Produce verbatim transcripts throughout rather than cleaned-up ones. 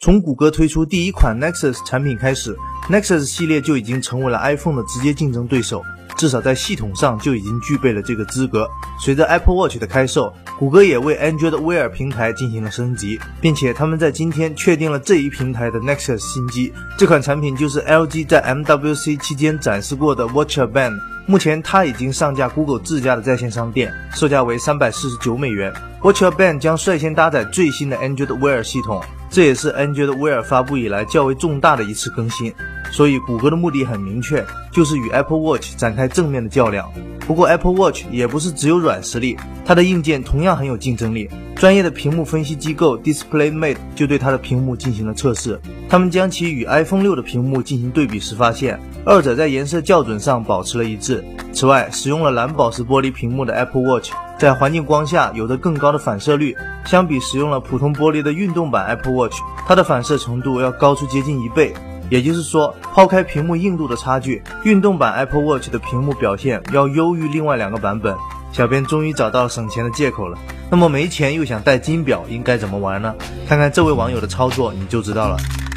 从谷歌推出第一款 Nexus 产品开始 ，Nexus 系列就已经成为了 iPhone 的直接竞争对手，至少在系统上就已经具备了这个资格。随着 Apple Watch 的开售，谷歌也为 Android Wear 平台进行了升级，并且他们在今天确定了这一平台的 Nexus 新机。这款产品就是 L G 在 M W C 期间展示过的 Watch Band。目前它已经上架 Google 自家的在线商店，售价为三百四十九美元。Watch Band 将率先搭载最新的 Android Wear 系统，这也是 Android Wear 发布以来较为重大的一次更新。所以谷歌的目的很明确，就是与 Apple Watch 展开正面的较量。不过 Apple Watch 也不是只有软实力，它的硬件同样很有竞争力。专业的屏幕分析机构 DisplayMate 就对它的屏幕进行了测试，他们将其与 iPhone 六的屏幕进行对比时发现，二者在颜色校准上保持了一致。此外，使用了蓝宝石玻璃屏幕的 Apple Watch 在环境光下有着更高的反射率，相比使用了普通玻璃的运动版 Apple Watch， 它的反射程度要高出接近一倍。也就是说，抛开屏幕硬度的差距，运动版 Apple Watch 的屏幕表现要优于另外两个版本。小编终于找到了省钱的借口了。那么没钱又想戴金表，应该怎么玩呢？看看这位网友的操作你就知道了。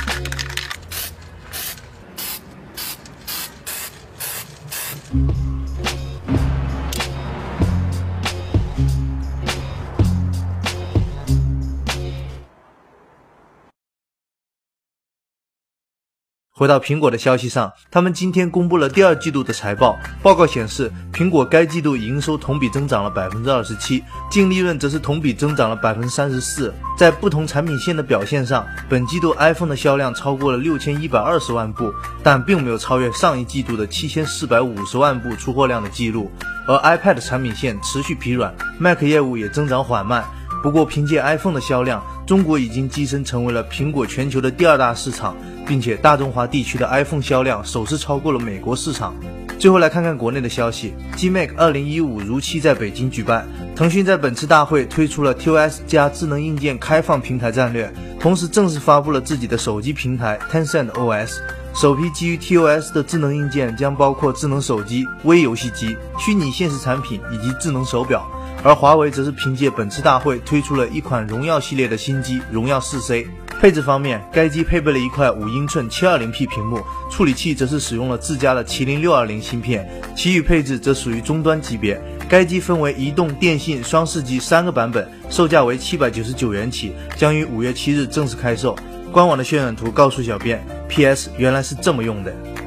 回到苹果的消息上，他们今天公布了第二季度的财报。报告显示，苹果该季度营收同比增长了 百分之二十七， 净利润则是同比增长了 百分之三十四。在不同产品线的表现上，本季度 iPhone 的销量超过了六千一百二十万部，但并没有超越上一季度的七千四百五十万部出货量的记录。而 iPad 产品线持续疲软， Mac 业务也增长缓慢。不过凭借 iPhone 的销量，中国已经跻身成为了苹果全球的第二大市场，并且大中华地区的 iPhone 销量首次超过了美国市场。最后来看看国内的消息 ，G M A C 二零一五如期在北京举办。腾讯在本次大会推出了 T O S 加智能硬件开放平台战略，同时正式发布了自己的手机平台 Tencent O S。首批基于 T O S 的智能硬件将包括智能手机、微游戏机、虚拟现实产品以及智能手表。而华为则是凭借本次大会推出了一款荣耀系列的新机荣耀 四 C。 配置方面，该机配备了一块五英寸 七二零P 屏幕，处理器则是使用了自家的麒麟六二零芯片，其余配置则属于中端级别。该机分为移动、电信、双视机三个版本，售价为七百九十九元起，将于五月七日正式开售。官网的渲染图告诉小编 P S 原来是这么用的。